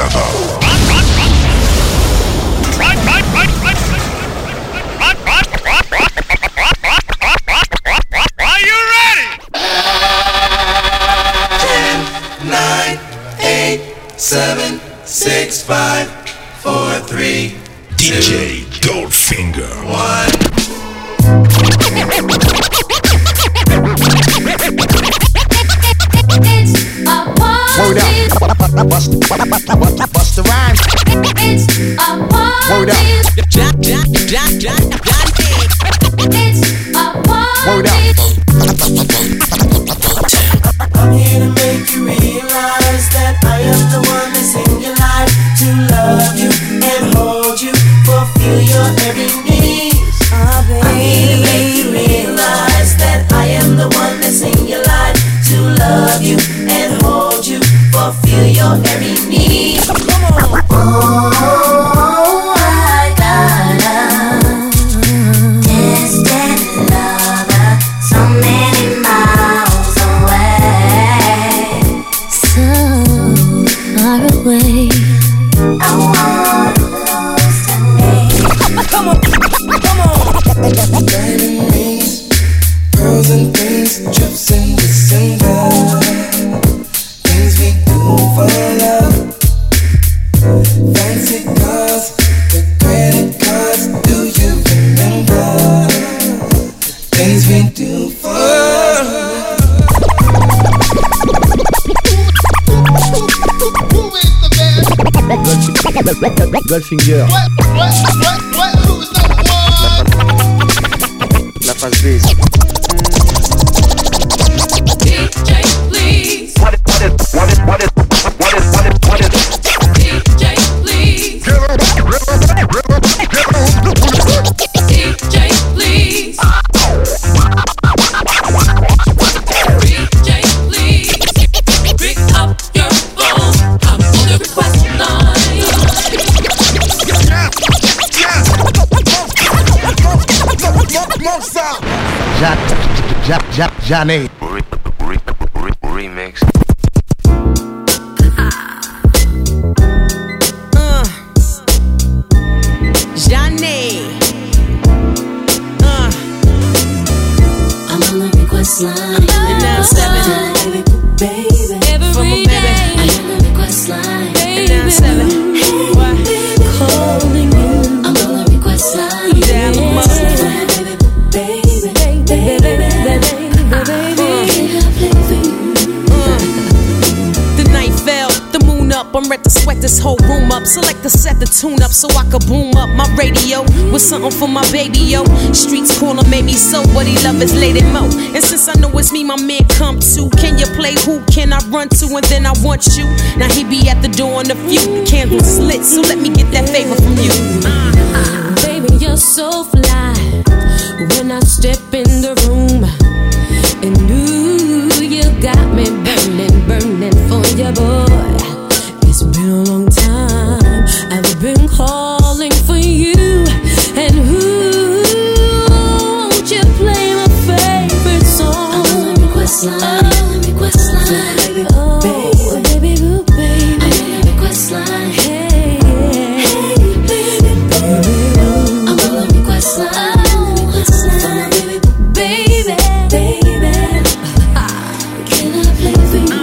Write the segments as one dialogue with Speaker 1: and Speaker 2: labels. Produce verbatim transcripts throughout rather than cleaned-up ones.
Speaker 1: là-bas.
Speaker 2: Are you ready?
Speaker 3: ten, nine, eight, seven, six, five, four, three,
Speaker 1: D J Goldfinger.
Speaker 3: one.
Speaker 4: It's a party.
Speaker 5: Word up. Bust, bust the rhyme.
Speaker 4: It's a party.
Speaker 5: Word up.
Speaker 6: Jack, Jack, Jack, Jack, Jack.
Speaker 4: It's a party.
Speaker 5: Word up.
Speaker 3: I'm here to make you realize that I am the one that's in your life, to love you and hold you, fulfill your every need. I'm here to make you realize that I am the one that's in your life, to love you and hold you, fulfill your every need. Come on.
Speaker 4: Oh, I got a distant lover, so many miles away, so far away. I want close to me.
Speaker 3: Come on, come on. Diamond rings, pearls and things, trips in December. Things we do for love. Fancy cars, the credit cards. Do you remember things we do for love?
Speaker 5: Goldfinger. La face B.
Speaker 4: D J, please.
Speaker 7: What is, what is, what is, what is, what is, what is, what is,
Speaker 4: D J, please. D J, please. D J, please. Pick up your phone. I'm on the request line.
Speaker 5: Jack, Jack, Jack, Johnny.
Speaker 7: re, re, re, remix.
Speaker 6: Uh, Johnny. Uh,
Speaker 4: I'm on the request line.
Speaker 6: and now seven.
Speaker 4: Baby,
Speaker 6: From a
Speaker 4: every
Speaker 6: baby.
Speaker 4: day. I'm on the request line.
Speaker 6: And now seven. What?
Speaker 4: Calling you. I'm on the request line.
Speaker 6: Yeah, I'm up.
Speaker 4: Baby, baby, baby, baby,
Speaker 6: The night fell, the moon up. I'm ready to sweat this whole room up. Select to set the tune up so I could boom up my radio with something for my baby, yo. Streets calling made me so, but he love his lady mo. And since I know it's me, my man come to. Can you play who can I run to? And then I want you. Now he be at the door in a few. The candles is lit, so let me get that favor from you.
Speaker 8: Baby, you're so fly when I step in the room. And ooh, you got me burning, burning for you, boy. It's been a long time I've been calling for you. And ooh, won't you play my favorite song?
Speaker 4: I'm on the request line. I'm on the request line. Baby,
Speaker 8: Oh, baby, boo, baby.
Speaker 4: I'm on the request line.
Speaker 8: Hey,
Speaker 4: Hey, baby, baby. I'm on the request line. I'm on the request line. Baby, baby, baby. Can I play for you?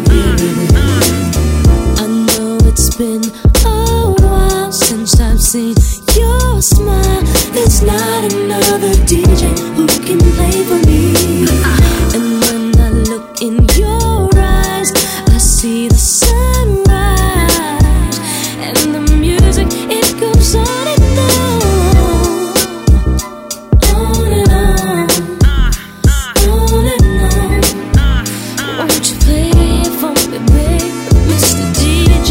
Speaker 8: I know it's been a while since I've seen your smile. There's not another D J who can play for me. And when I look in your eyes, I see the sunrise. And the music, it goes on and on. On and on. On and on. Won't you play it for me, baby, Mister D J?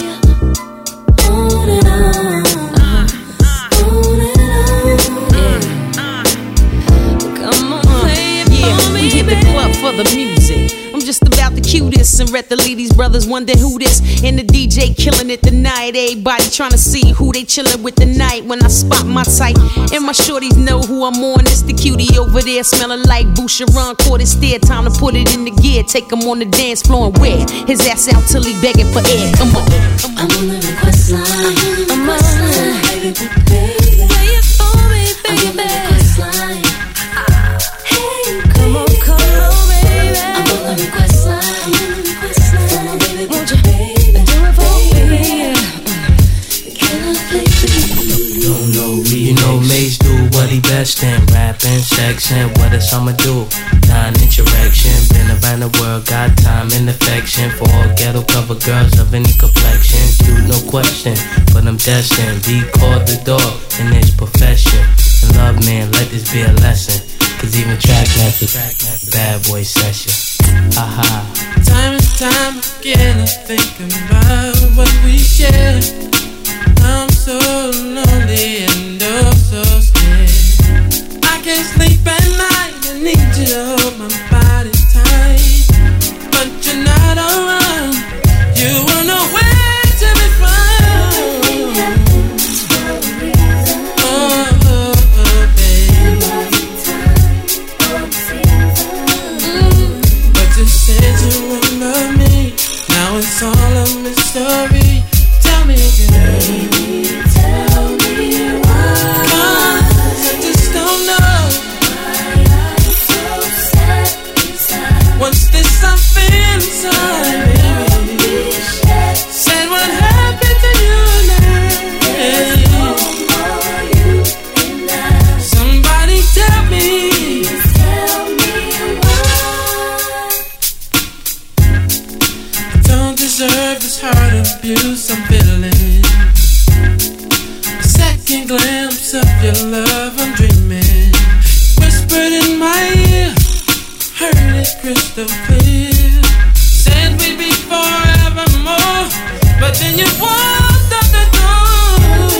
Speaker 8: On and on, on and on. Come on, play it
Speaker 6: Yeah,
Speaker 8: for
Speaker 6: we
Speaker 8: me,
Speaker 6: hit the
Speaker 8: baby.
Speaker 6: club for the music. I'm just about to cue cue this and let the ladies brothers wonder who this. And the D J killing it tonight. Everybody trying to see who they chilling with tonight. When I spot my type, and my shorties know who I'm on. It's the cutie over there smelling like Boucheron. Caught his stare, time to put it in the gear. Take him on the dance floor and wear his ass out till he begging for air. Come on.
Speaker 4: I'm on the request line. I'm on the request line. Baby, baby, play it for me, baby. I'm on the request line. Hey, come on, come on, baby. I'm on the request line. Come on, baby, won't you do it for me? Can I play for you?
Speaker 2: Don't know me, you know Maze do what he best in. Rapping, sexing, what else I'ma do? Non-inch erection, been around the world, got time and affection for all ghetto cover girls of any complexion. Dude, no question, but I'm destined. Be called the dog in this profession. And love, man, let this be a lesson. Cause even track method, bad boy session. Aha.
Speaker 9: Time and time again I think about what we shared. I'm so lonely and oh so scared. I can't sleep at night, I need you to hold my body tight. But you're not around, you were nowhere to be found. Oh, oh, oh, babe. mm. But you said you would love me, now it's all a mystery. Tell me again. Baby, tell me why. Cause I just don't know why I'm so sad inside. What's this I feel inside, baby? Said what happened to you now? There's no more you and I. Somebody tell me. Please tell me why. I don't deserve this heart abuse I'm feeling. A second glimpse of your love I'm dreaming. Whispered in my ear, heard it crystal clear. Said we'd be forevermore, but then you walked out the door.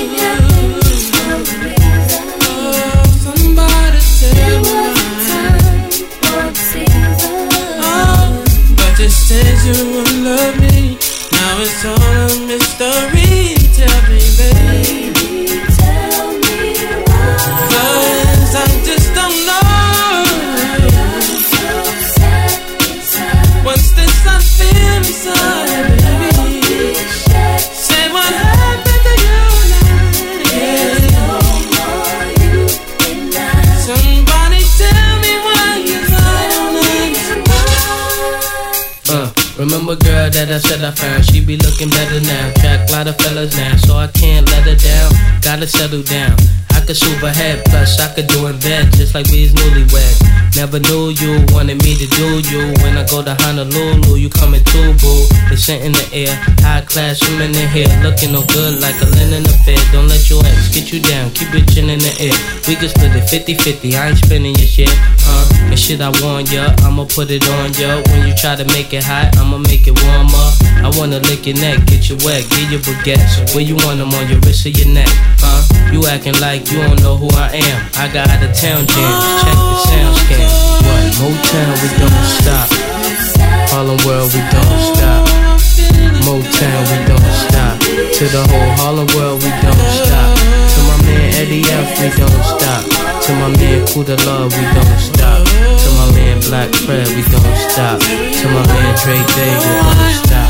Speaker 9: Oh, somebody tell me why. Oh, but you said you would love me, now it's all a mystery. Tell me, baby, baby, tell me why. Cause I just don't know. I'm so sad inside. What's this I feel inside, baby? Say what happened to you now? There's no more you and I. Somebody tell me why you don't understand.
Speaker 2: Uh, remember girl that I said I found, she be looking better now. Track a lot of fellas now, so I can't let her down. Gotta settle down, I could swoop ahead, plus I could do in bed, just like we is newlyweds. Never knew you wanted me to do you. When I go to Honolulu, you coming too, boo. It's scent in the air, high class women in here, looking no good like a linen affair. Don't let your ex get you down, keep your chin in the air. We can split it fifty fifty, I ain't spending your shit, uh. And shit I want ya, I'ma put it on ya. When you try to make it hot, I'ma make it warmer. I wanna lick your neck, get you wet, give you baguettes. Where you want them, on your wrist or your neck, huh? You acting like you don't know who I am. I got out of town jams, check the sound scan. What? Motown, we don't stop. Harlem World, we don't stop. Motown, we don't stop. To the whole Harlem World, we don't stop. To my man Eddie F, we don't stop. To my man Kuda Love, we don't stop. To my man Black Fred, we don't stop. To my man Drake Day, we don't stop.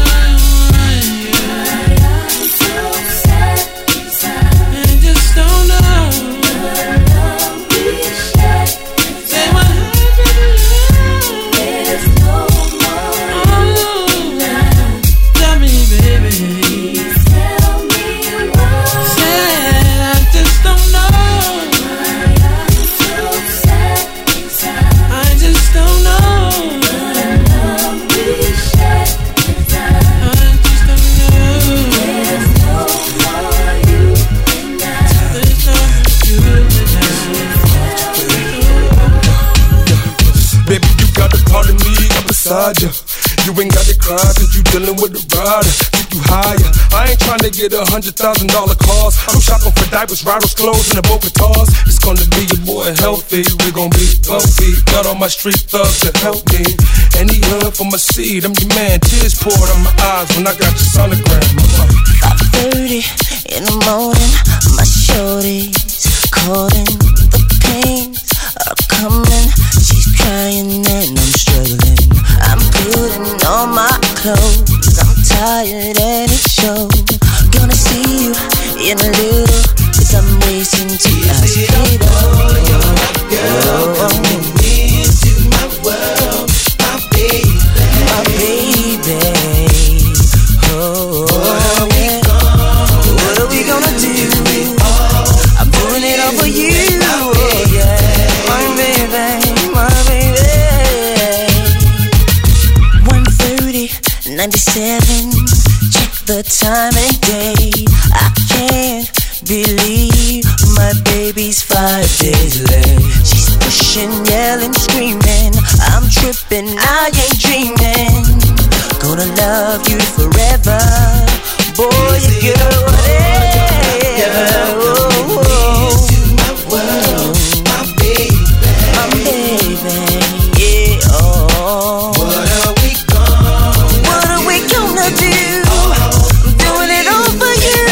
Speaker 10: You ain't got to cry cause you dealing with a rider. Take you higher. I ain't trying to get a hundred thousand dollar cars. I'm shopping for diapers, riders, clothes, and a boat guitars. It's gonna be your boy healthy. We gon' be wealthy. Got all my street thugs to help me. Any hood for my seed, I'm your man. Tears poured on my eyes when I got your sonogram.
Speaker 3: five thirty in the morning, my shorty's calling. The pains are coming. She's crying and I'm struggling. I'm putting on my clothes. I'm tired and it shows. Gonna see you in a little, cause I'm racing to ask you. Oh, you're my girl, coming into my world. My baby, my baby. Oh, what are we gonna, what are we gonna do? I'm doing it all for you. Oh, yeah, my baby, my baby. one thirty, ninety-seven. Check the time and day. I can't believe my baby's five days late. She's pushing, yelling, screaming. I'm tripping, I ain't dreaming. Gonna love you forever. Boy, you girl, whatever. Oh, oh. My baby, my baby, yeah. Oh, what are we gonna, what are we gonna do? I'm doing it all for you.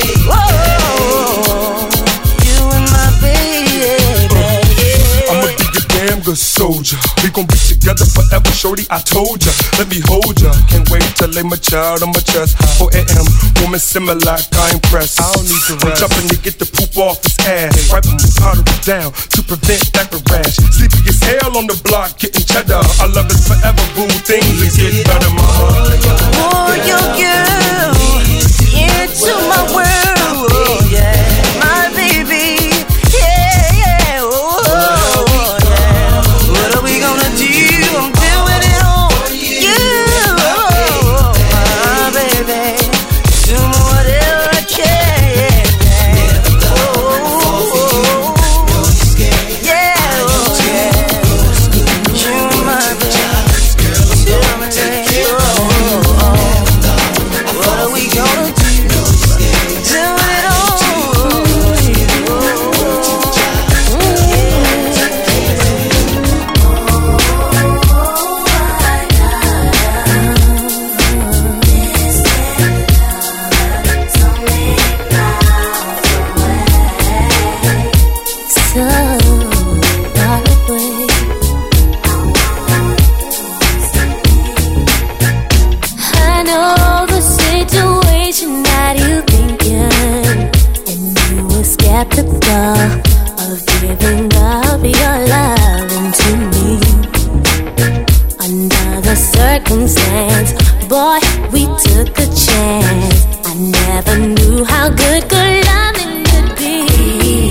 Speaker 3: Whoa, you and my baby. Yeah.
Speaker 10: I'ma be your damn good soldier. We gon' be together forever, shorty, I told ya. Let me hold ya. Can't wait to lay my child on my chest. four a.m. Woman simmer like I impress. I don't need to rest. I'm jumping to get the poop off his ass. Wiping my powder down to prevent diaper rash. Sleepy as hell on the block, getting cheddar. I love it forever, boo. Things are getting better, mama.
Speaker 3: Oh, your girl into my world. Oh, yeah, my baby. Yeah, yeah. Oh, yeah. What are we gonna do? I'm doing it all for you. Oh, my baby. Do whatever I can. Oh, oh, oh. Yeah, oh, yeah. You, my baby. Do my baby. Oh, oh. What are we gonna do? Doing it all.
Speaker 8: So far away. I know the situation that you think you're in, and you were skeptical of giving up your loving to me. Under the circumstance, boy, we took a chance. I never knew how good good loving could be.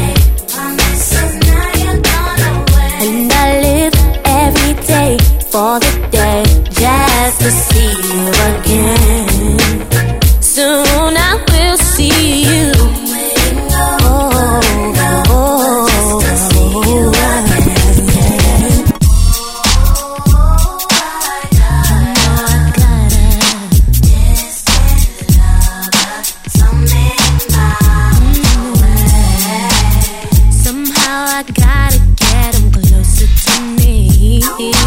Speaker 8: And I live every day for the day just to see you again. Soon I will see you. Oh, oh, oh, oh. Somehow I gotta get him closer to me.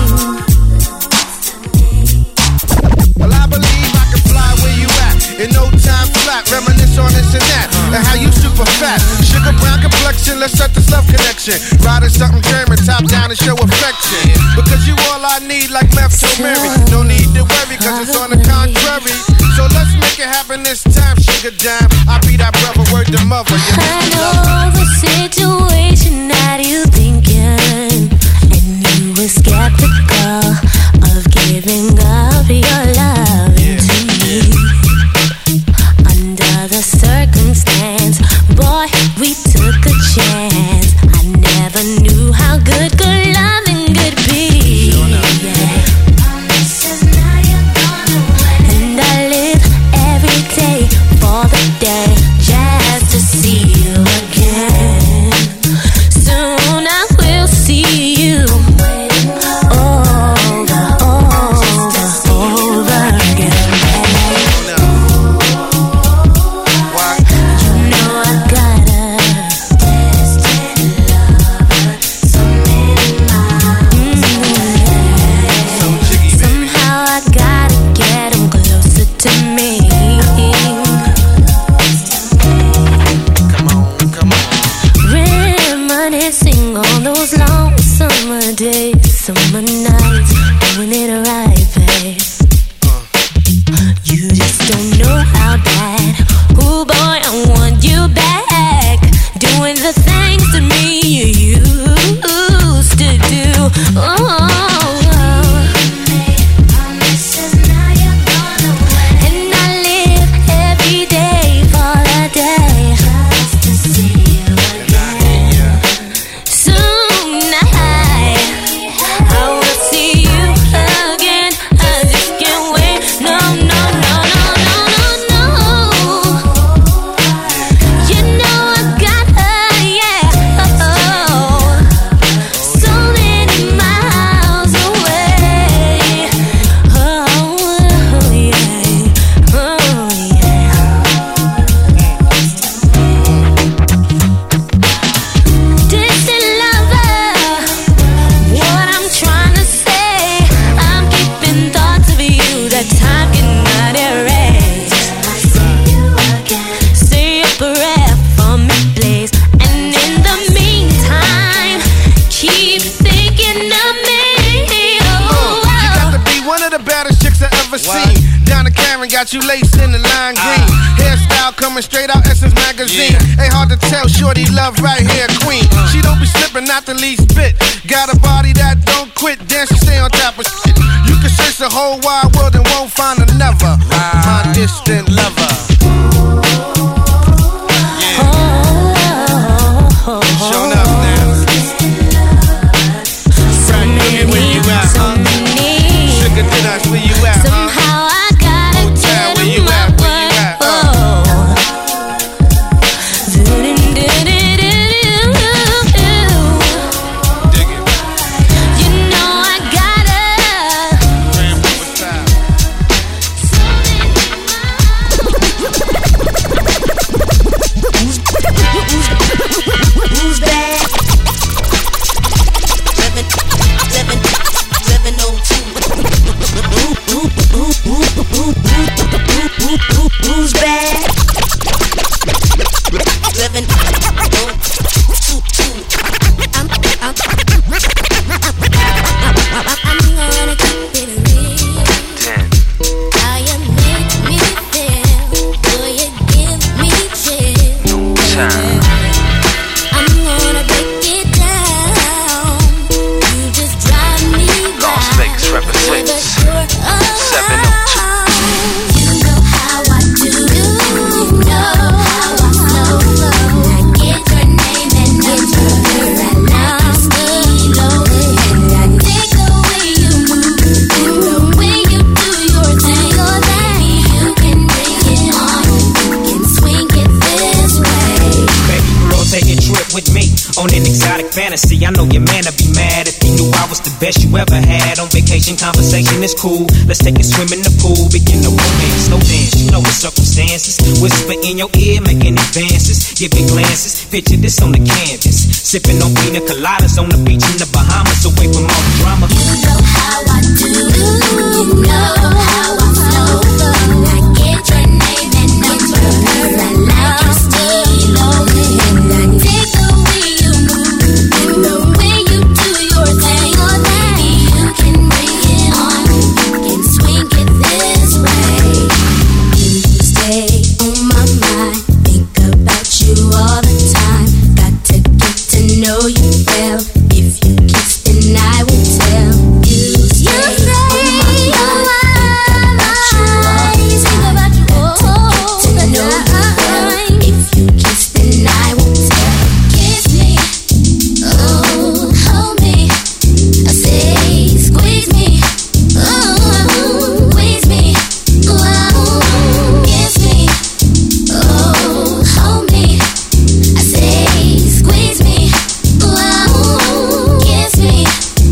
Speaker 5: Well, I believe I can fly where you at. In no time flat, reminisce on this and that. And how you super fat. Sugar brown complexion, let's set this love connection. Riding something German, top down and show affection. Because you all I need like left to Mary. No need to worry, cause it's on the contrary. So let's make it happen this time, sugar dime. I'll be that brother, word to mother. You
Speaker 8: I know the situation that you think you're in, and you were skeptical of giving up your love to me. Under the circumstance, boy, we took a chance. I never knew how good good loving could be. Yeah. And I live every day for the day just to see you again.
Speaker 5: the baddest chicks I ever seen. Donna Karen got you laced in the lime green. Hairstyle coming straight out Essence magazine. Ain't hard to tell, shorty love right here, queen. She don't be slipping, not the least bit. Got a body that don't quit, dance, she stay on top of shit. You can search the whole wide world and won't find another. My distant lover. Showing up now. Right here, where you at, huh? Sugar to us, where you at, huh?
Speaker 8: Somehow I got it.
Speaker 5: Hotel, where you at, where you at, uh? Dig it.
Speaker 8: You know I got it.
Speaker 5: Grand River style.
Speaker 3: Who's bad? Living, living, living oh two. Who's bad? Living oh two. I'm, I'm, I'm gonna keep it real.
Speaker 7: ten.
Speaker 3: How you make me feel? Will you give me chill?
Speaker 7: Time.
Speaker 3: I'm gonna break it down. You just drive me
Speaker 7: Las Vegas represents seven oh two.
Speaker 3: You know how I do. You know how I flow. I get your name and number. I like you steal over. And I dig the way you move, the way you do your thing. Oh, baby, you can bring it on. You can swing it this way.
Speaker 11: Baby girl, take a trip with me on an exotic fantasy. I know your man would be mad if he knew I was the best you ever had. On vacation, conversation is cool. Let's take a swim in the pool. Begin the romance, slow dance. You know the circumstances. Whisper in your ear, making advances. Giving glances. Picture this on the canvas. Sipping on pina coladas on the beach in the Bahamas. Away from all the drama.
Speaker 3: You know how I do. You know how I flow. I get your name and number. I like you steal over. And I dig the way you move, the way you do your thing. Oh, baby, you can bring it on. You can swing it this way. You stay on my mind. Think about you all the time. Got to get to know you well. If you kiss, then I will tell. You stay on my mind. Think about you all the time. Think about you all the time. If you kiss, then I will tell. Kiss me, oh, hold me. I say, squeeze me, oh, squeeze me, oh, kiss me, oh, hold me. I say, squeeze me, oh, kiss me,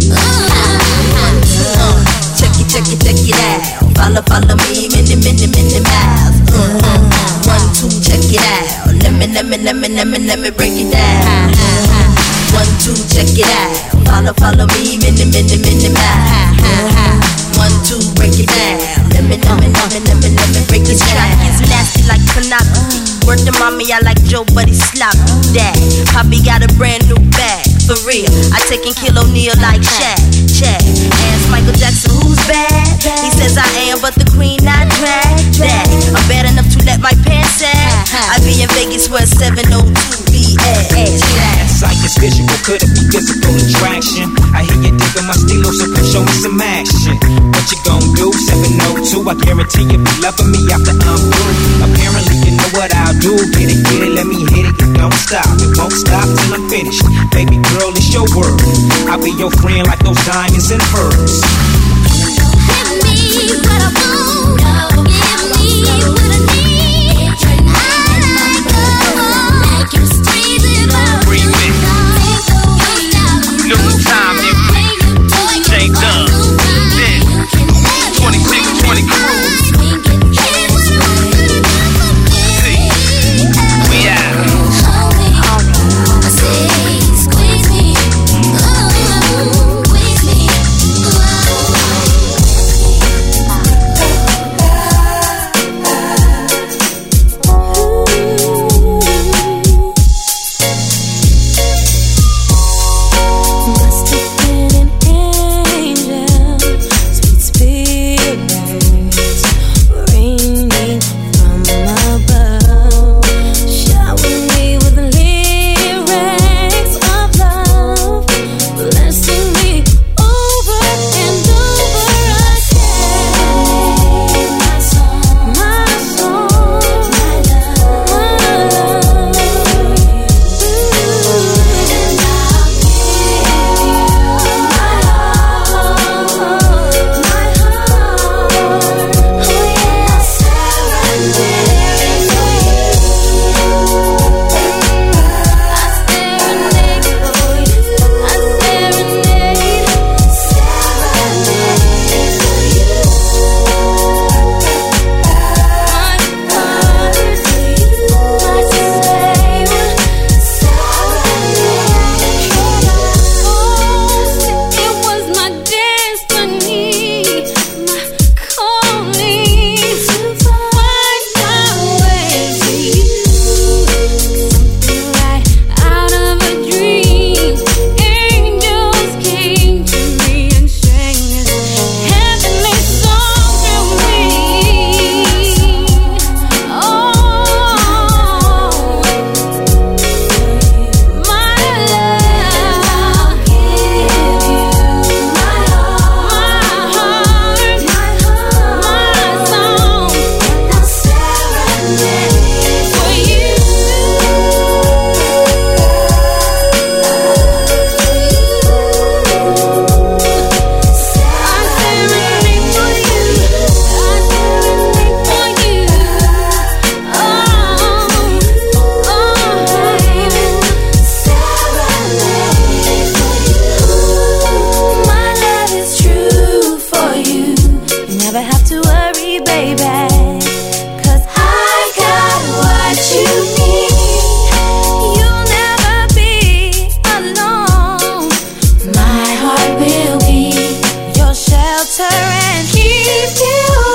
Speaker 3: oh. Check it, check it, check it out. Follow, follow me, many, many, many miles. Uh-huh. One, two, check it out. Let me, let me, let me, let me, let me break it down. One, two, check it out. Follow, follow me, many, many, many miles. One, two, break it down. Let me, let me, let me, let me, let me break it down.
Speaker 12: It's nasty like pornography. Word to mommy, I like Joe, but he's sloppy. Dad, Poppy got a brand new bag. For real, I take and kill O'Neal like Shaq. Check. Ask Michael Jackson who's bad. He says I am, but the queen I drag. Daddy, I'm bad enough to let my pants sag. I be in Vegas where seven oh two B S.
Speaker 11: That sight is visual, could it be physical attraction? I hear you digging my stilo, so come show me some action. What you gon' do? seven oh two, I guarantee you be loving me after I'm through. Apparently you know what I'll do. Get it, get it, let me hit it. It don't stop, it won't stop till I'm finished. Baby girl, it's your world. I'll be your friend like those diamonds and pearls.
Speaker 3: Give me what I want. Give me what I need. I like you squeeze it up.
Speaker 7: Remix. New time, you J Dub. twenty-six twenty crew. We out.
Speaker 8: never have to worry, baby. Cause I got what you need. You'll never be alone. My heart will be your shelter and keep you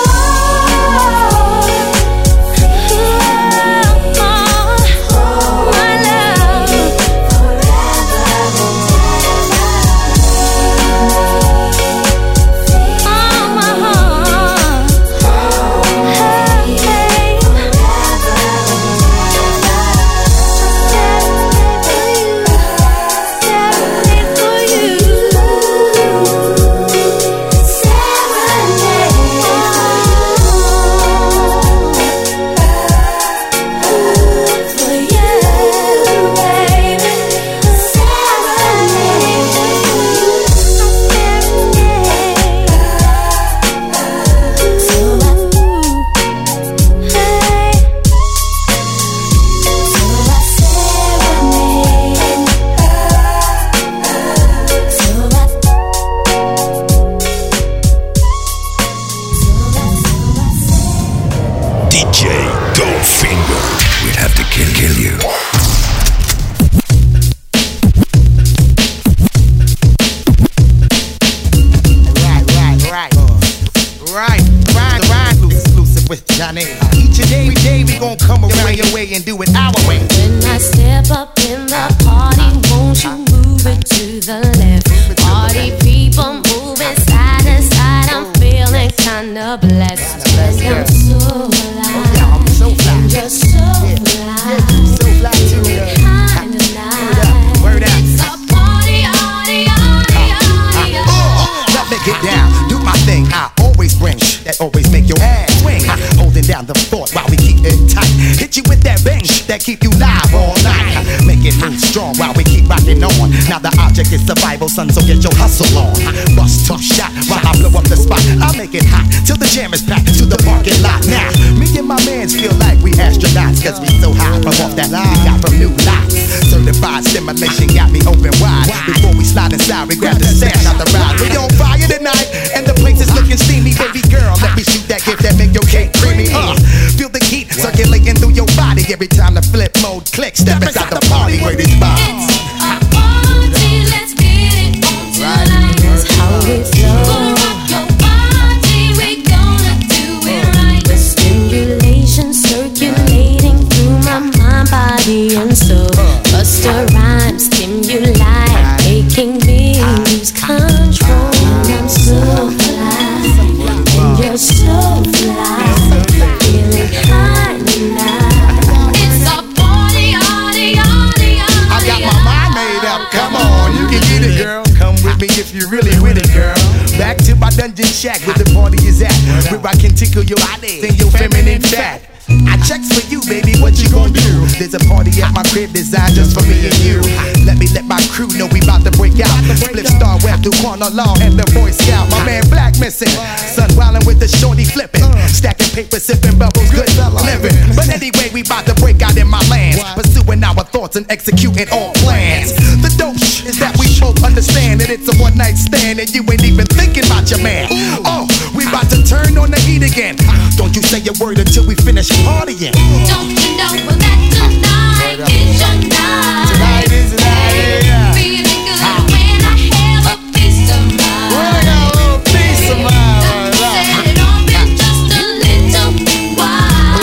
Speaker 13: and do it our way.
Speaker 8: When I step up in the party, won't you move it to the left? Party people moving side to side, I'm feeling kinda blessed. And I'm so alive, I'm so fly. And you're so fly, so fly too. Kinda nice.
Speaker 13: Word out.
Speaker 8: It's a party, party, party, party.
Speaker 13: Let me get down, do my thing. I always bring that always make your ass swing. Holding down the fort while we keep it tight. Hit you with that bang that keep you live all night. Make it move strong while we keep rocking on. Now the object is survival, son, so get your hustle on. Bust tough shot while I blow up the spot. I'll make it hot till the jam is packed to the parking lot. Now, me and my mans feel like we astronauts, cause we so high from off that line we got from new lots. Certified stimulation got me open wide. Before we slide inside, we grab the stash out the ride. We on fire tonight, and the place is looking steamy. Baby girl, let me shoot that gift that make your cake creamy. Uh, feel the heat circulating through your body every time the flip mode clicks. Step inside the party where this bomb.
Speaker 8: It's a party, let's get it on tonight. That's how we flow. Gonna rock your body, we gonna do it right. The stimulation circulating through my mind, body, and soul. Busta Rhymes, stimuli, making me lose control. And I'm so fly, and you're so fly, feeling high tonight. It's a party, party, party,
Speaker 13: I got my mind made up, come on, you can get it, girl. Come with me if you're really with it, girl. Back to my dungeon shack where the party is at, where I can tickle your body and your feminine fat. I checks for you, baby, what you gon' do? There's a party at my crib designed just for me and you. Let me let my crew know we bout to break out. Split star web through corner law and the Boy Scout. My man Black missing, son wildin' with the shorty flipping, stacking paper, sipping bubbles, good living. But anyway, we bout to break out in my lands, pursuing our thoughts and executing all plans. The dope is that we both understand that it's a one night stand and you ain't even thinking about your man. Oh, we bout to turn on the heat again. Don't you say a word until we finish partying.
Speaker 8: Don't you know that tonight is your night?
Speaker 13: Tonight is the night, yeah.
Speaker 8: Feeling good when I have a piece of mind.
Speaker 13: When I got a little piece of mind,
Speaker 8: set it off in just a little while.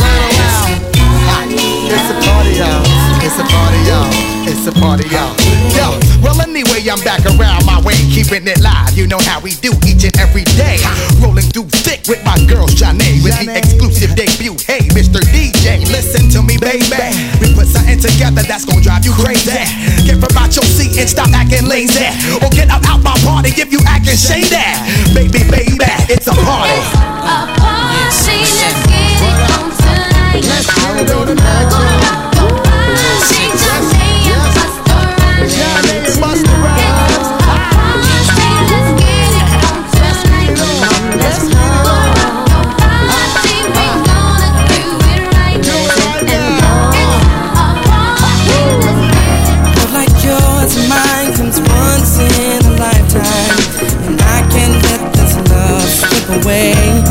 Speaker 13: It's a party, y'all. It's a party, y'all. It's a party, y'all. Yo, well anyway, I'm back around my way, keeping it live. You know how we do each and every day. Rolling through thick with my girl Shanae, with the exclusive debut. Hey, Mister D J, listen to me, baby. We put something together that's gonna drive you crazy. Get from out your seat and stop acting lazy, or get out out my party if you acting shady. Baby, baby, it's a party.
Speaker 8: It's a party, let's get it on tonight.
Speaker 13: Let's get it on tonight.
Speaker 9: Away.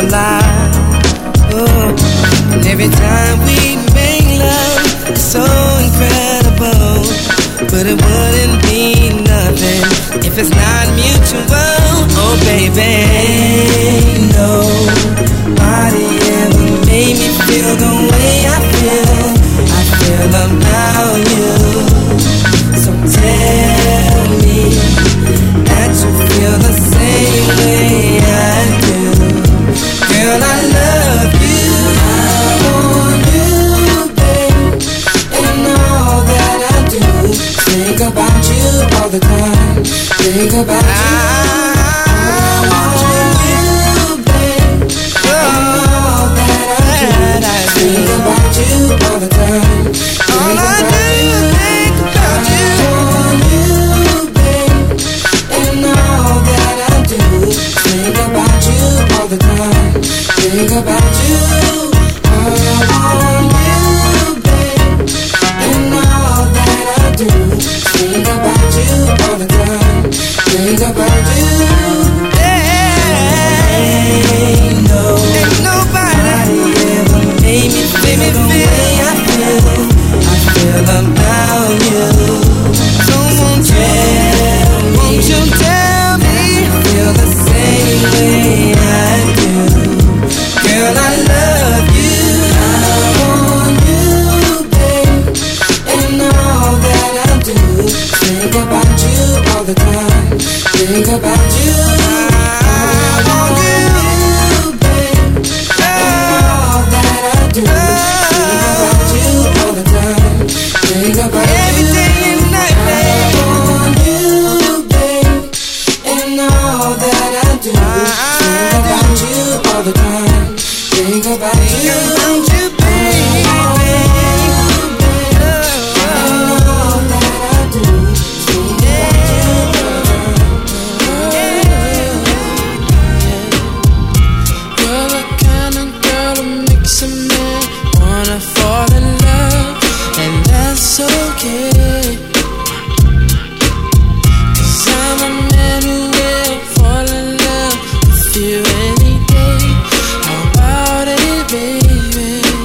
Speaker 14: alive. Oh, and every time we make love, it's so incredible. But it wouldn't be nothing if it's not mutual. Oh baby, nobody ever made me feel the way I feel. I feel about you. So tell me that you feel the same way I do. Girl, I love you. I want you, babe, and all that I do. Think about you all the time. Think about you. I want you, babe, and all that I do. Think about you all the time. All I do is think about you. I want you, babe, and all that I do. Think about you all the time. Think about you. I want you, babe, and all that I do. Think about you all the time. Think about you. Ain't no, ain't nobody ever made me feel the way I feel. I feel about you. So won't you, won't you tell me you feel the same way I do? Girl, I love you. I want you, babe, and all that I do. Think about you all the time. Think about you. I want you, babe, and all that I do. Think about you all the time. Think about you. Every day and night, babe. I want you, babe, and all that I do. Think about you all the time. Think about you. Think about you, baby. All that I do. Think
Speaker 9: You're the kind of girl who makes a man wanna fall in love, and that's okay. 'Cause I'm a man who will fall in love with you any day. How about it, baby?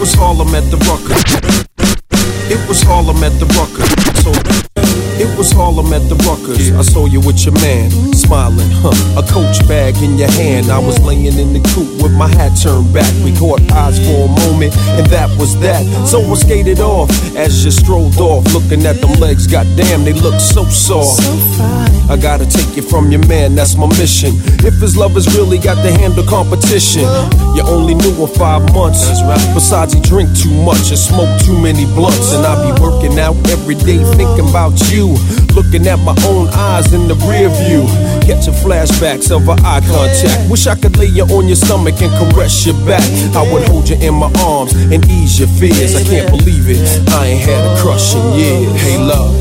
Speaker 15: was Harlem at the Rucker. It was Harlem at the Rucker. So it was Harlem at the Ruckers. I saw you with your man, smiling, huh? A Coach bag in your hand. I was laying in the coupe with my hat turned back. We caught eyes for a moment, and that was that. So I skated off as you strolled off, looking at them legs. Goddamn, they look so soft. I gotta take you from your man, that's my mission. If his lovers really got to handle competition, you only knew him five months. Besides, he drink too much and smoke too many blunts. And I be working out every day thinking about you, looking at my own eyes in the rear view, catching flashbacks of our eye contact. Wish I could lay you on your stomach and caress your back. I would hold you in my arms and ease your fears. I can't believe it, I ain't had a crush in years. Hey love,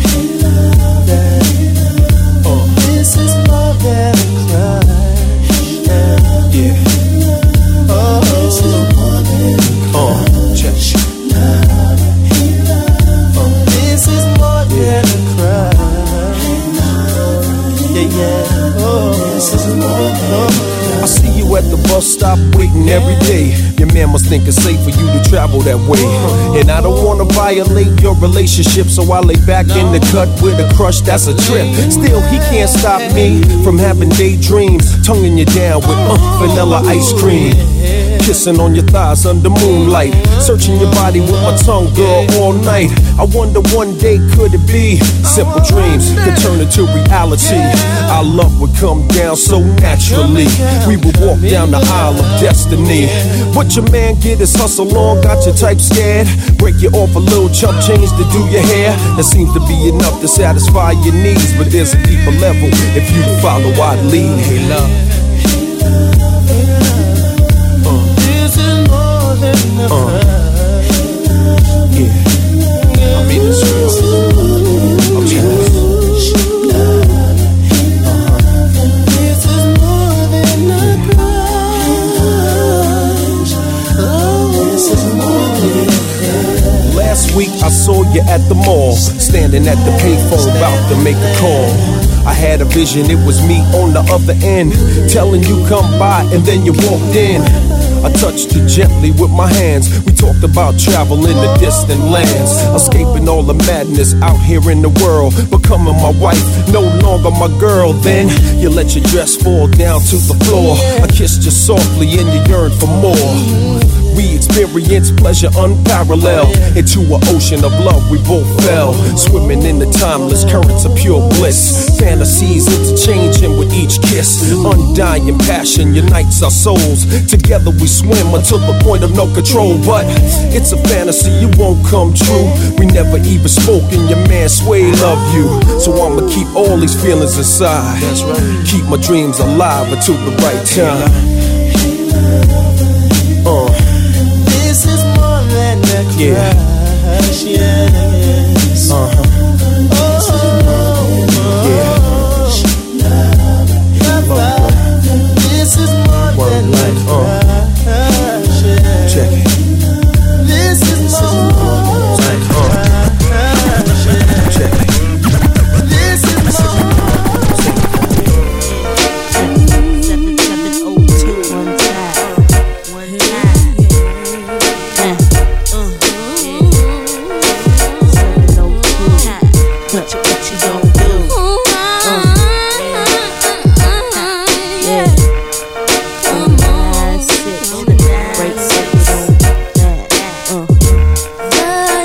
Speaker 15: uh.
Speaker 3: This is more than a crush.
Speaker 15: Yeah.
Speaker 3: Oh, this is more than a crush.
Speaker 15: Uh, check.
Speaker 3: This is more than a crush. Yeah, yeah. Oh, this is more than a crush.
Speaker 15: I see you at the bus stop waiting every day. Your man must think it's safe for you to travel that way. And I don't wanna violate your relationship, so I lay back in the cut with a crush, that's a trip. Still, he can't stop me from having daydreams, tonguing you down with uh, vanilla ice cream. Kissing on your thighs under moonlight, searching your body with my tongue, girl, all night. I wonder one day could it be simple dreams could turn into reality. Our love would come down so naturally. We would walk down the aisle of destiny. What your man get his hustle on, got your type scared. Break you off a little chump change to do your hair. That seems to be enough to satisfy your needs, but there's a deeper level if you follow I'd lead. Hey love, Uh, yeah, I mean it's real. I mean it's
Speaker 3: This is more than a crush. Oh, this is more than a crush.
Speaker 15: Last week I saw you at the mall, standing at the payphone about to make a call. I had a vision, it was me on the other end, telling you come by and then you walked in. I touched you gently with my hands. We talked about travel in the distant lands, escaping all the madness out here in the world, becoming my wife, no longer my girl. Then you let your dress fall down to the floor. I kissed you softly and you yearned for more. We experienced pleasure unparalleled. Into an ocean of love we both fell, swimming in the timeless currents of pure bliss. Fantasies interchanging with each kiss. Undying passion unites our souls. Together we swim until the point of no control. But it's a fantasy, it won't come true. We never even spoke and your man Sway love you. So I'ma keep all these feelings inside. That's right. Keep my dreams alive until the right time. Uh.
Speaker 3: This is more than a crush. Yeah. Yes.
Speaker 15: Uh-huh.
Speaker 3: This is more than a crush.
Speaker 15: Check it.
Speaker 3: This is more than a crush.
Speaker 15: Check it.
Speaker 3: This is more.
Speaker 12: Seven seven oh two one time, one time. Uh, uh, seven oh two. What you what you gonna do? Uh, yeah. Nine six, break seven on that. Uh.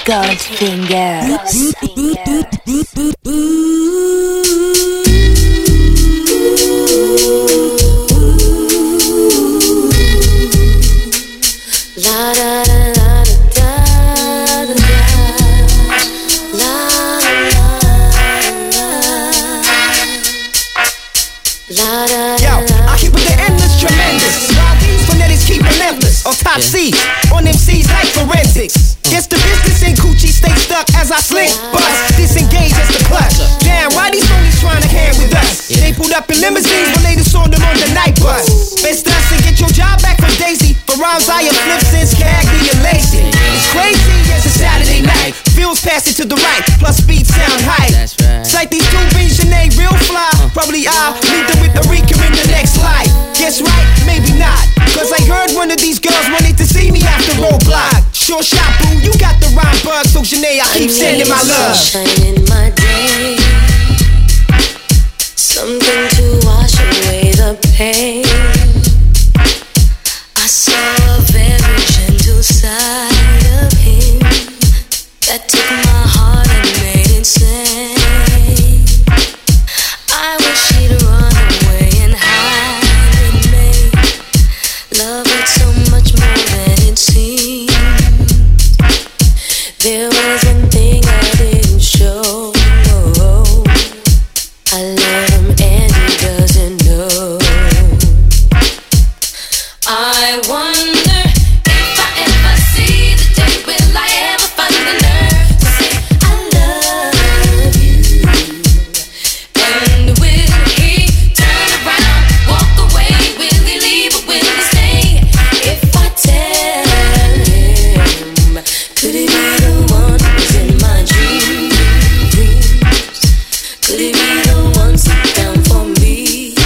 Speaker 4: Goldfinger.
Speaker 8: La da da da da da da. La la la.
Speaker 16: Yo, I keep it the endless tremendous. While these phonetics keep relentless. On top C, on M Cs like forensics. Guess the business in Coochie stay stuck as I slink bust. Disengage as the clutch. Damn, why these phonies trying to hand with us? They pulled up in limousines when they saw them on the night bus. Best us and get your job back from Daisy. For rhymes I have flipped since Cagney and Lacey. It's crazy as a Saturday night. Feels pass it to the right, plus speed sound high. That's right. It's like these two beans and they real fly. Probably I'll meet them with the Rika in the next life. Guess right, maybe not. Cause I heard one of these girls wanted to see me after Roadblock. Sure shot, boo, you got the rhyme bug. So Janae, I keep sending my love.
Speaker 8: Sunshine in my day, something to wash away the pain. I saw a very gentle side of him that took my heart and made it sing. I wish he'd run away and hide with me. Love it so much more than it seemed. There was one thing I didn't show. I love him and he doesn't know. I wonder if I ever see the day, will I ever find the nerve to say I love you? And will he turn around, walk away? Will he leave or will he stay? If I tell him, could he be the one who's in my dreams? Could he be the one sit down for me?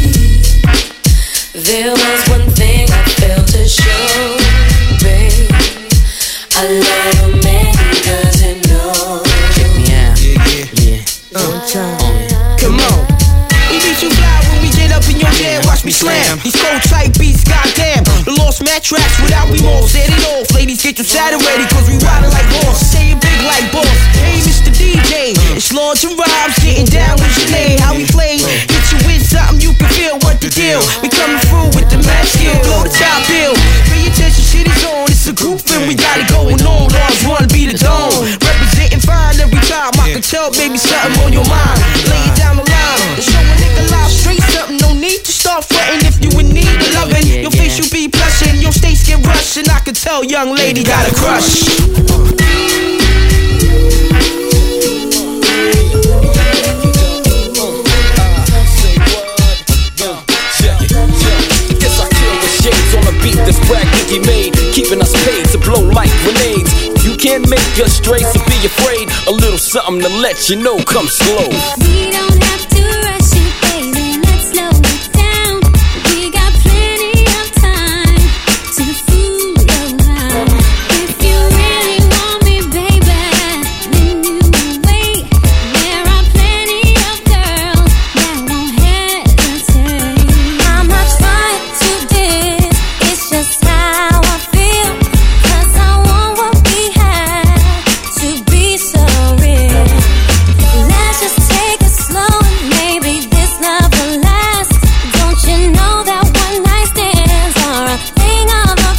Speaker 8: There was one thing I failed to show, babe. I love him and he doesn't know.
Speaker 16: Check me out. Yeah, yeah, yeah. Uh, come on. We be too fly when we get up in your bed. Watch me slam. These cold tight beats, goddamn. The lost mat tracks without remorse. Set it off, ladies, get your saddle ready, cause we riding like horse. Say it big like boss. Hey, Mister D J, it's Lawrence and Robs getting down with Janae. How we play? Hit you with something you can feel what the deal. We coming through with the match skill, blow the top bill. Pay attention, shit is on. It's a group and we got it going on. Lawrence wanna be the dome. Representing fine every time. I can tell, baby, something on your mind. Lay it down the line. And show a nigga live straight something. No need to start fronting if you in need of loving. Your face you be blushing, your states get rushing. I can tell, young lady got a crush.
Speaker 15: This practically made, keeping us paid to blow like grenades. You can't make us straight, so be afraid. A little something to let you know, come slow.
Speaker 8: We don't have to rush it, baby, let's slow it down. We got plenty of time to fool around. If you really want me, baby, then you wait. There are plenty of girls that won't hesitate. I'm not trying to diss, it's just how I feel. Cause I want what we have to be so real. Let's just take it slow and maybe this love will last. Don't you know that one night stands are a thing of the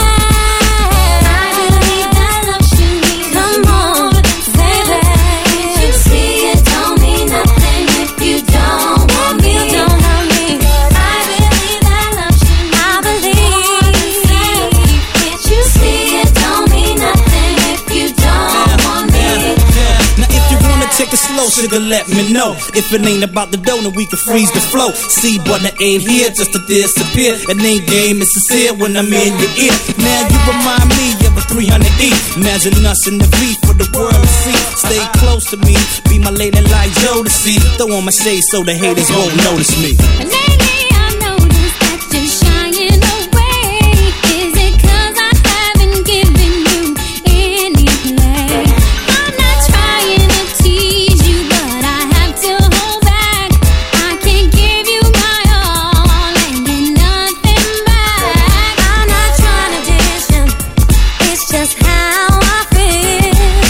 Speaker 8: past? I believe that love should be. Come on, baby. You see it don't mean nothing if you don't want me. Don't want me. I believe that love should. I believe. You see it don't mean nothing if you don't want me.
Speaker 17: Now if you wanna take it slow, sugar, let me know. If it ain't about the dough, then we can freeze the flow. See, button ain't here just to disappear. It ain't game, it's sincere when I'm in your ear. Now you remind me of a three hundred E. Imagine us in the V for the world to see. Stay close to me, be my lady like Joe to see. Throw on my shades so the haters won't notice me.
Speaker 8: Lately I've noticed that you're shying away. Is it cause I haven't given you any play? I'm not trying to tease you, but I have to hold back. I can't give you my all and get nothing back. I'm not trying to dish him, it's just how I feel.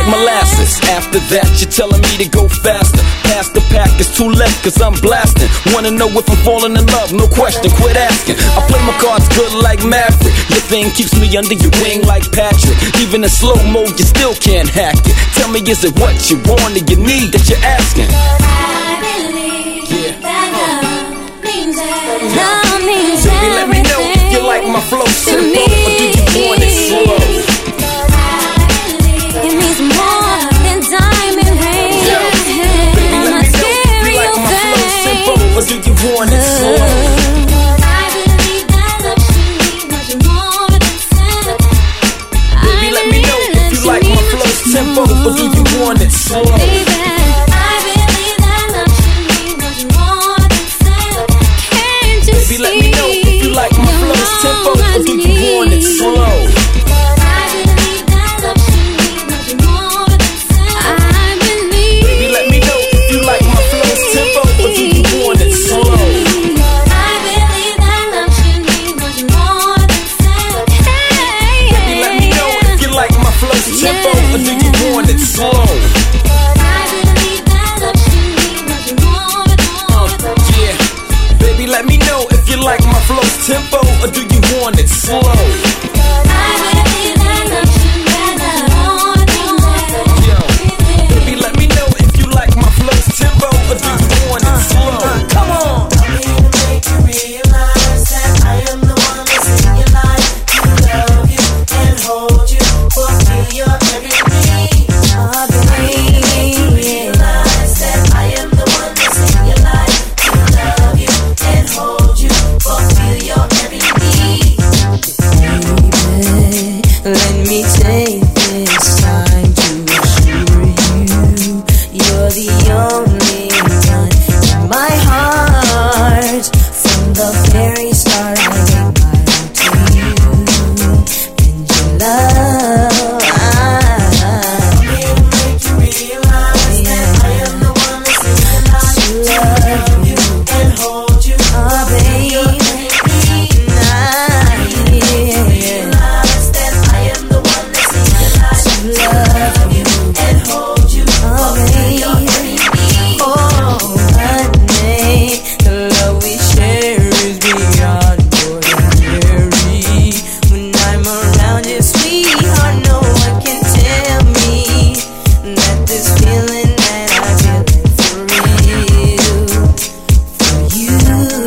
Speaker 15: like molasses. After that, you're telling me to go faster. Past the pack is too left, cause I'm blasting. Wanna know if I'm falling in love? No question, quit asking. I play my cards good like Maverick. Your thing keeps me under your wing like Patrick. Even in slow mo, you still can't hack it. Tell me, is it what you want or you need that you're asking?
Speaker 4: I believe yeah. that love means everything. Love means
Speaker 15: Baby, let me know if you like my flow simple or do you want it slow?
Speaker 4: It means more than diamond rings.
Speaker 15: Yo, baby, let me know if you like my flow simple or do you want it slow? Tempo, or do you want it slow? Baby,
Speaker 4: I believe that love should be much more than sex. Can't you
Speaker 15: Baby,
Speaker 4: see?
Speaker 15: let me know if you like my flow tempo, or do you want it slow?
Speaker 4: I believe that love should be much more than sex. I believe.
Speaker 15: Baby, let me know if you like my flow tempo, or do you want it slow?
Speaker 4: I believe that love should be much more than sex. Hey,
Speaker 15: baby, let me know if you like my flow tempo, or do you want it slow?
Speaker 4: I believe that love should be much more than
Speaker 15: uh, yeah. Baby, let me know if you like my flow tempo, or do you want it slow?
Speaker 4: I believe that love should be more than
Speaker 15: Yo, baby, let me know if you like my flow tempo, or do you want it slow? Come on.
Speaker 3: I'm here to make you realize that I am the one that's in your life to love you and hold you, fulfill your every need. I believe, realize that I am the one that's in your life to love you and hold you, fulfill your every need. Baby, let me take this time to assure you, you're the only one in my heart. From the very start, I gave my all to you and your love. I'm here to make you realize that I am the one that's in your life to love you and hold you. Oh, baby, realize that I am the one that's in your life to love you and hold you. Oh, baby, oh, honey, the love we share is beyond ordinary. When I'm around you, sweetheart, no one can tell me that this feeling that I feel is for real, for you.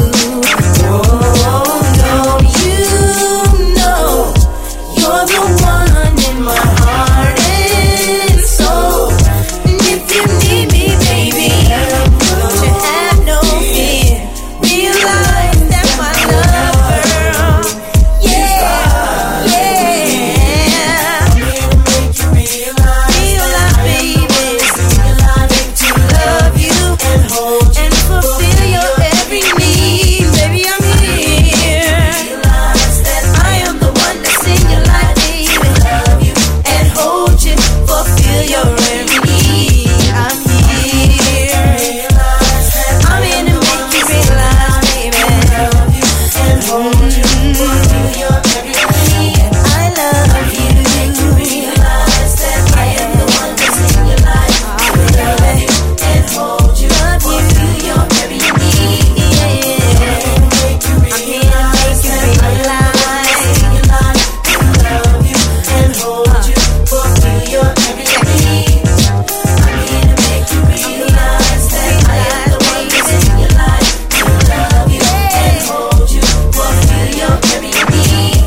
Speaker 3: Oh, don't you know you're the one in my heart and soul? And if you need me, baby, don't you have no fear. Realize that my love, girl, yeah, yeah. I'm here to make you realize, realize, baby, make to love you and hold you and fulfill your every need. Baby, I'm here. Realize that I am the one that's in your life, baby, love you and hold you, fulfill your every need. I'm here. I'm here to make you realize, baby, love you and hold you, fulfill your every need. I love you. Make you realize that I am the one that's in your life. I love you and hold you, fulfill your every need. Make you realize that I am the one that's in your life. Love you and hold you, fulfill your every need. I'm here to make you realize that I am the one that's in your life. Love you and hold you, fulfill your every need.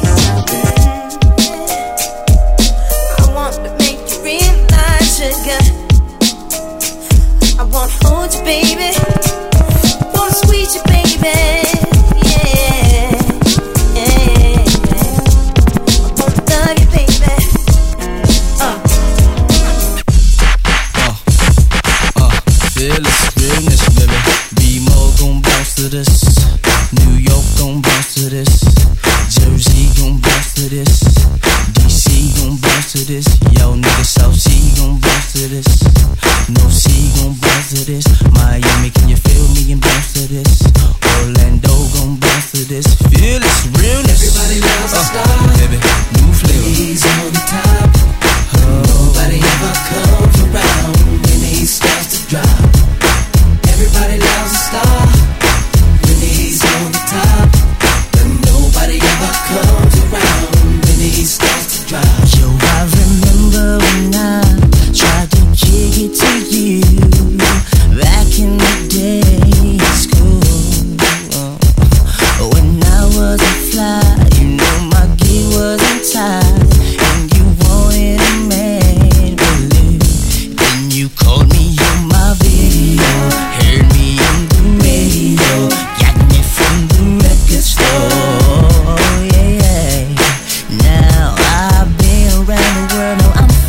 Speaker 3: I want to make you realize, sugar, I want to hold you, baby. Want to squeeze you, baby. Yeah, yeah, yeah. I want to love you, baby. Uh.
Speaker 18: Fearless realness, baby. B-Mo gon' bounce to this. New York gon' bounce to this. Jersey gon' bounce to this. D C gon' bounce to this. Yo, nigga, South Sea gon' bounce to this. No C gon' bounce to this. Miami, can you feel me and bounce to this? Orlando gon' bounce to this. Fearless realness.
Speaker 14: Everybody loves a
Speaker 18: uh,
Speaker 14: star.
Speaker 18: baby, new flavor.
Speaker 14: He's on top. Nobody ever comes.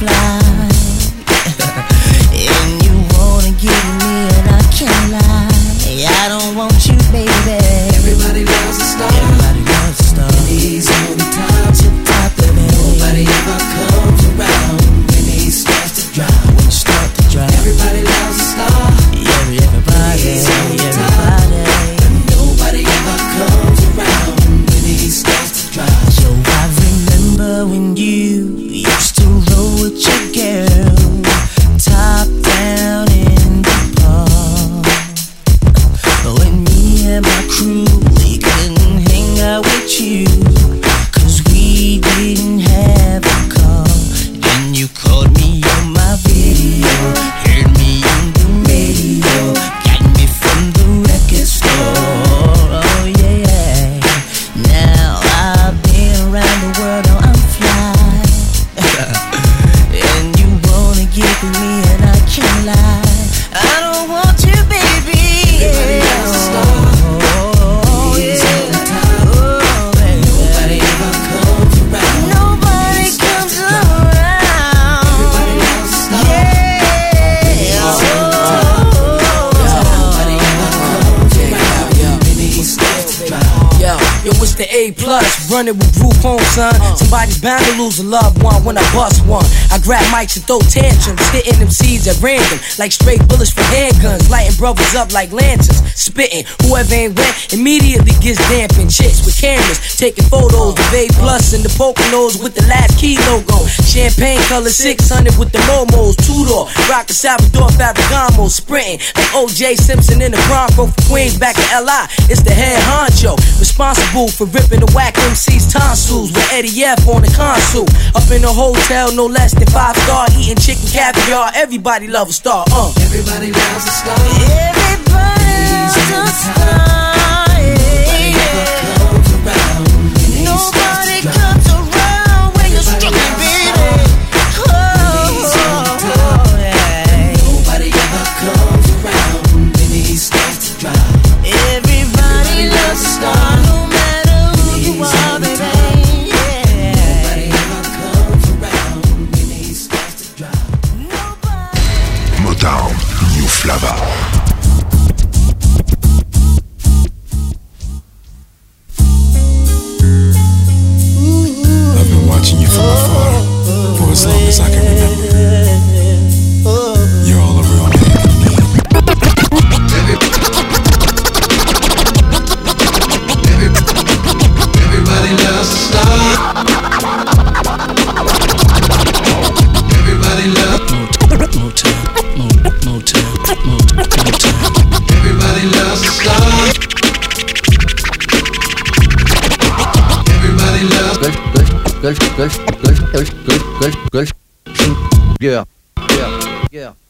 Speaker 14: fly. And you wanna get me and I can't lie. I don't want you, baby.
Speaker 3: Everybody loves a star.
Speaker 14: Everybody loves a star.
Speaker 3: And he's on the top.
Speaker 14: Tip top of it.
Speaker 3: Nobody ever comes around when he starts to drop.
Speaker 14: When you start to drop.
Speaker 3: Everybody loves a star.
Speaker 14: Yeah, everybody.
Speaker 3: He's on the
Speaker 14: Everybody.
Speaker 3: top. And nobody ever comes around when he starts to drop.
Speaker 14: So I remember when you used to roll with your girl, top down in the park. When me and my crew, we couldn't hang out with you, cause we didn't have a car. Then you called me on my video, heard me on the radio, got me from the record store. Oh yeah. Now I've been around the world, oh I'm fly. And you wanna get with me and I can't lie. I don't want you, baby.
Speaker 3: Everybody loves a star.
Speaker 14: Oh,
Speaker 3: He's
Speaker 14: yeah.
Speaker 3: on the top.
Speaker 14: Oh, baby.
Speaker 3: Nobody ever comes around.
Speaker 14: Nobody
Speaker 3: when he starts
Speaker 14: comes
Speaker 3: to drop.
Speaker 14: around.
Speaker 3: Everybody loves a star.
Speaker 14: Yeah.
Speaker 3: He's on the top. Nobody ever comes around when he starts to drop.
Speaker 2: Yo, yo, it's the A plus, running with group home, son. Somebody's bound to lose a loved one when I bust one. I grab mics and throw tantrums, hitting them seeds at random, like straight bullets from handguns, lighting brothers up like lanterns, spitting. Whoever ain't wet immediately gets dampened. Chicks with cameras taking photos of A plus and the Poconos with the last key logo. Champagne color six hundred with the Momos, two door, rockin' Salvador Ferragamo, sprinting like O J Simpson in the Bronco from Queens back in L I. It's the head honcho, responsible for ripping the whack M C's tonsils with Eddie F on the console. Up in a hotel, no less than five star, eating chicken caviar. Everybody love a star, uh.
Speaker 3: Everybody loves a star.
Speaker 14: Everybody
Speaker 3: He's on
Speaker 14: loves
Speaker 3: the
Speaker 14: a
Speaker 3: top.
Speaker 14: star.
Speaker 3: Nobody ever comes around when he
Speaker 14: Nobody
Speaker 3: starts to drop.
Speaker 14: comes around when you're struggling, baby.
Speaker 3: He's on the top.
Speaker 14: Oh, yeah.
Speaker 3: Nobody ever comes around when he starts to drop.
Speaker 14: Everybody loves a star, no matter who you
Speaker 3: He's
Speaker 14: are,
Speaker 3: on the
Speaker 14: baby.
Speaker 3: top.
Speaker 14: Yeah.
Speaker 3: Nobody ever comes around when he starts to drop.
Speaker 1: Motown, New Flava.
Speaker 10: I've been watching you from afar for as long as I can remember. You're all a real man can need.
Speaker 3: Everybody loves a star. Everybody loves.
Speaker 17: Motown, Motown, Motown, Motown.
Speaker 3: Everybody loves a star. Everybody loves.
Speaker 19: Good, good, good, good, good, good, good, good. Yeah, yeah, yeah.